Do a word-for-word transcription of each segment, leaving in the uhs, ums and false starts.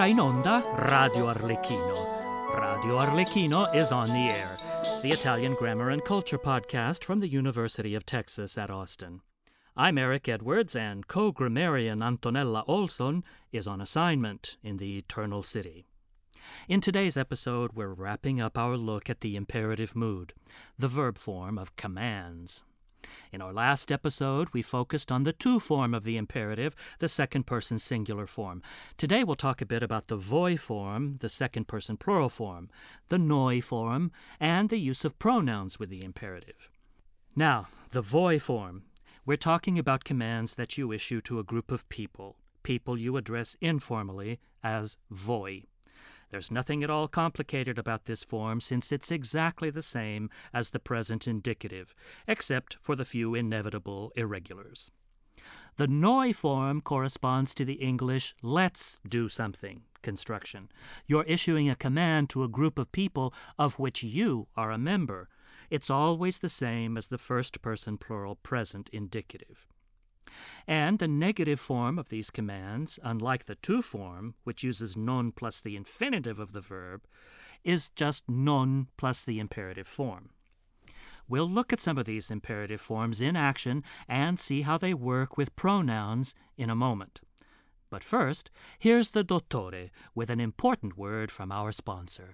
Va in onda Radio Arlecchino. Radio Arlecchino is on the air, the Italian grammar and culture podcast from the University of Texas at Austin. I'm Eric Edwards, and co-grammarian Antonella Olson is on assignment in the Eternal City. In today's episode, we're wrapping up our look at the imperative mood, the verb form of commands. In our last episode, we focused on the to form of the imperative, the second-person singular form. Today, we'll talk a bit about the voi form, the second-person plural form, the noi form, and the use of pronouns with the imperative. Now, the voi form. We're talking about commands that you issue to a group of people, people you address informally as voi. There's nothing at all complicated about this form since it's exactly the same as the present indicative, except for the few inevitable irregulars. The noi form corresponds to the English let's do something construction. You're issuing a command to a group of people of which you are a member. It's always the same as the first-person plural present indicative. And the negative form of these commands, unlike the to form, which uses non plus the infinitive of the verb, is just non plus the imperative form. We'll look at some of these imperative forms in action and see how they work with pronouns in a moment. But first, here's the Dottore with an important word from our sponsor.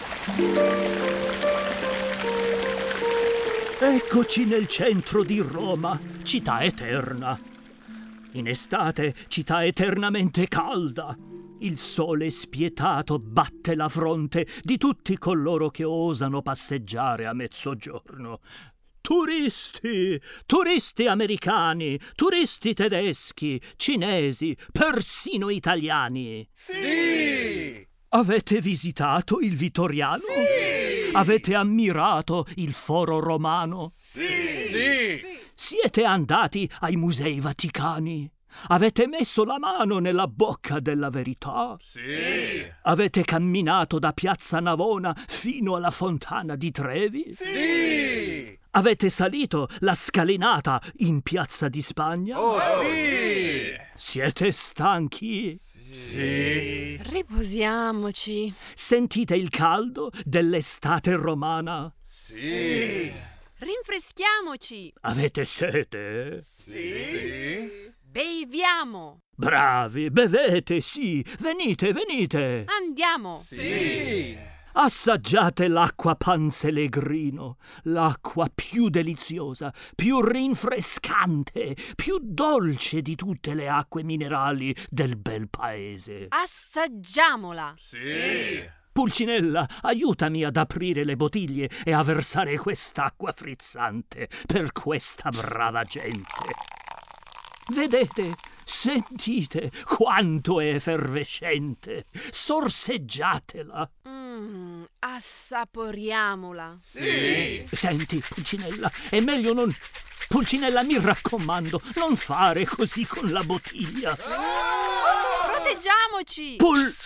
Eccoci nel centro di Roma, città eterna. In estate, città eternamente calda. Il sole spietato batte la fronte di tutti coloro che osano passeggiare a mezzogiorno. Turisti, turisti americani, turisti tedeschi, cinesi, persino italiani. Sì! Avete visitato il Vittoriano? Sì! Avete ammirato il Foro Romano? Sì! Sì! Siete andati ai Musei Vaticani? Avete messo la mano nella bocca della verità? Sì! Avete camminato da Piazza Navona fino alla Fontana di Trevi? Sì! Avete salito la scalinata in Piazza di Spagna? Oh, sì! Siete stanchi? Sì! Riposiamoci. Sentite il caldo dell'estate romana? Sì! Rinfreschiamoci. Avete sete? Sì! Beviamo. Bravi, bevete, sì. Venite, venite. Andiamo. Sì! Assaggiate l'acqua Panzelegrino, l'acqua più deliziosa, più rinfrescante, più dolce di tutte le acque minerali del bel paese. Assaggiamola. Sì! Pulcinella, aiutami ad aprire le bottiglie e a versare quest'acqua frizzante per questa brava gente. Vedete, sentite quanto è effervescente. Sorseggiatela. Mmm, assaporiamola. Sì! Senti, Pulcinella, è meglio non... Pulcinella, mi raccomando, non fare così con la bottiglia. Proteggiamoci.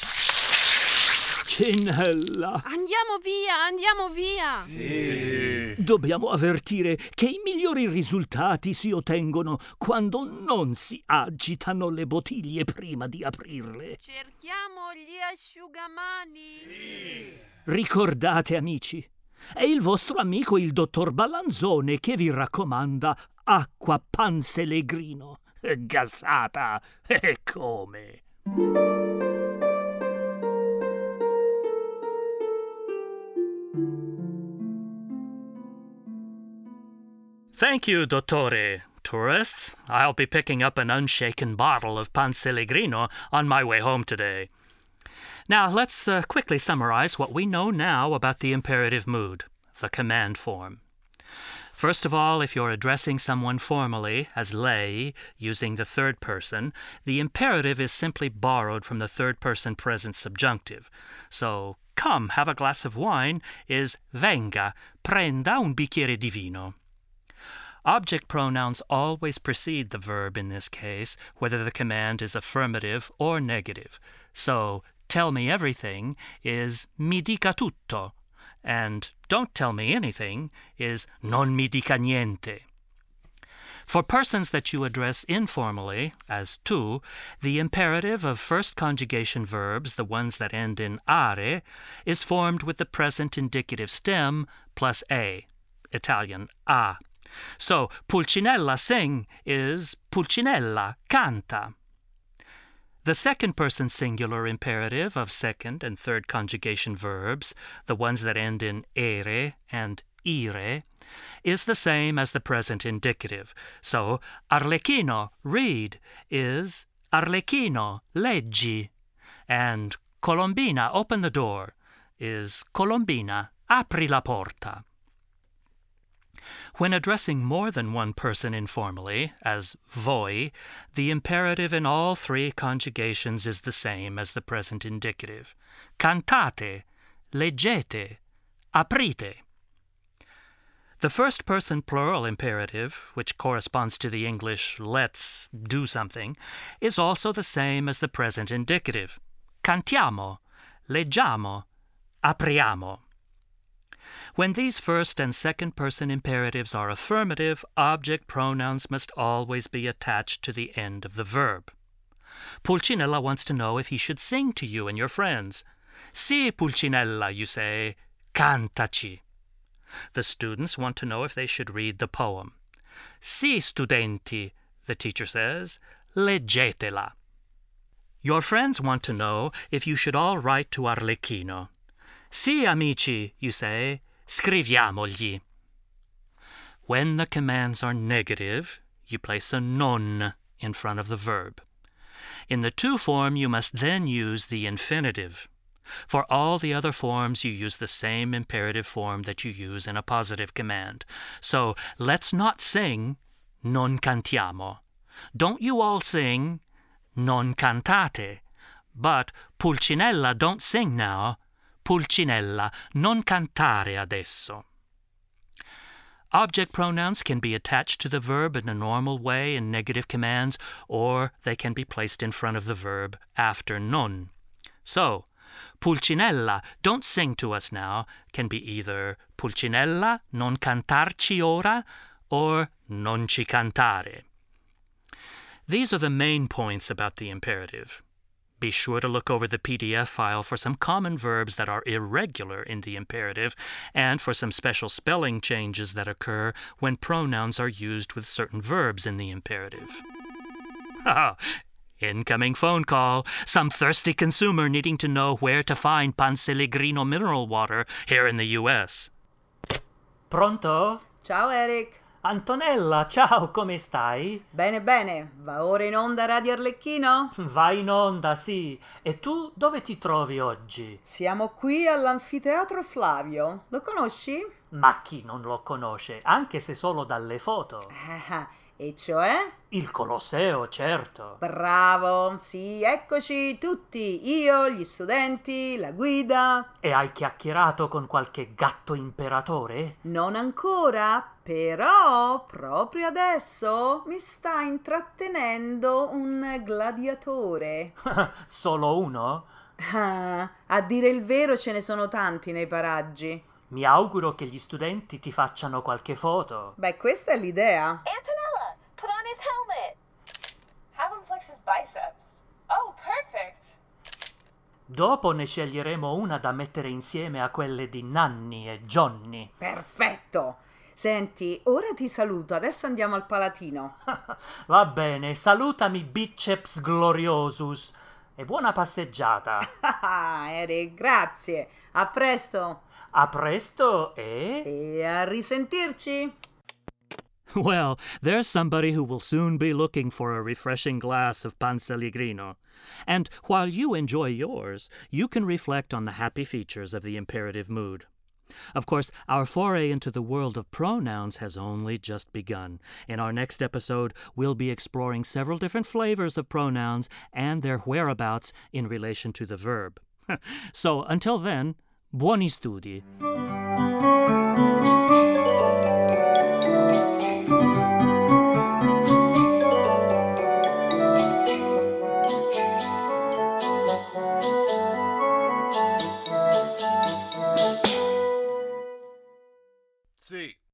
Pulcinella, Andiamo via, andiamo via. Sì! dobbiamo avvertire che i migliori risultati si ottengono quando non si agitano le bottiglie prima di aprirle. Cerchiamo gli asciugamani. Sì! Ricordate, amici, è il vostro amico il dottor Ballanzone che vi raccomanda acqua Panzelegrino, gassata, e come? Thank you, Dottore. Tourists, I'll be picking up an unshaken bottle of Panzelegrino on my way home today. Now, let's uh, quickly summarize what we know now about the imperative mood, the command form. First of all, if you're addressing someone formally as lei, using the third person, the imperative is simply borrowed from the third-person present subjunctive. So, come, have a glass of wine is venga, prenda un bicchiere di vino. Object pronouns always precede the verb in this case, whether the command is affirmative or negative. So, tell me everything is mi dica tutto, and don't tell me anything is non mi dica niente. For persons that you address informally, as tu, the imperative of first conjugation verbs, the ones that end in are, is formed with the present indicative stem plus a, Italian a. So, Pulcinella sing is Pulcinella canta. The second person singular imperative of second and third conjugation verbs, the ones that end in ere and ire, is the same as the present indicative. So, Arlecchino, read, is Arlecchino, leggi. And Colombina, open the door, is Colombina, apri la porta. When addressing more than one person informally, as voi, the imperative in all three conjugations is the same as the present indicative. Cantate, leggete, aprite. The first person plural imperative, which corresponds to the English let's do something, is also the same as the present indicative. Cantiamo, leggiamo, apriamo. When these first and second person imperatives are affirmative, object pronouns must always be attached to the end of the verb. Pulcinella wants to know if he should sing to you and your friends. Si, Pulcinella, you say, cantaci. The students want to know if they should read the poem. Si, studenti, the teacher says, leggetela. Your friends want to know if you should all write to Arlecchino. Si, amici, you say, scriviamogli. When the commands are negative, you place a non in front of the verb. In the to form, you must then use the infinitive. For all the other forms, you use the same imperative form that you use in a positive command. So, let's not sing, non cantiamo. Don't you all sing, non cantate. But, Pulcinella, don't sing now. Pulcinella, non cantare adesso. Object pronouns can be attached to the verb in a normal way in negative commands, or they can be placed in front of the verb after non. So, Pulcinella, don't sing to us now, can be either Pulcinella, non cantarci ora, or non ci cantare. These are the main points about the imperative. Be sure to look over the P D F file for some common verbs that are irregular in the imperative and for some special spelling changes that occur when pronouns are used with certain verbs in the imperative. Ha! Incoming phone call. Some thirsty consumer needing to know where to find Panselegrino mineral water here in the U S. Pronto? Ciao Eric. Antonella, ciao, come stai? Bene, bene. Va ora in onda Radio Arlecchino? Va in onda, sì. E tu dove ti trovi oggi? Siamo qui all'Anfiteatro Flavio. Lo conosci? Ma chi non lo conosce, anche se solo dalle foto? Ah, e cioè? Il Colosseo, certo. Bravo, sì, eccoci tutti. Io, gli studenti, la guida. E hai chiacchierato con qualche gatto imperatore? Non ancora, però proprio adesso mi sta intrattenendo un gladiatore. Solo uno? Ah, a dire il vero ce ne sono tanti nei paraggi. Mi auguro che gli studenti ti facciano qualche foto. Beh, questa è l'idea. Antonella, put on his helmet. Have him flex his biceps. Oh, perfect. Dopo ne sceglieremo una da mettere insieme a quelle di Nanni e Johnny. Perfetto. Senti, ora ti saluto, adesso andiamo al Palatino. Va bene, salutami biceps gloriosus e buona passeggiata. Ah, Eric, grazie. A presto. A presto e... E a risentirci. Well, there's somebody who will soon be looking for a refreshing glass of Panselegrino. And while you enjoy yours, you can reflect on the happy features of the imperative mood. Of course, our foray into the world of pronouns has only just begun. In our next episode, we'll be exploring several different flavors of pronouns and their whereabouts in relation to the verb. So, until then, buoni studi. Sì.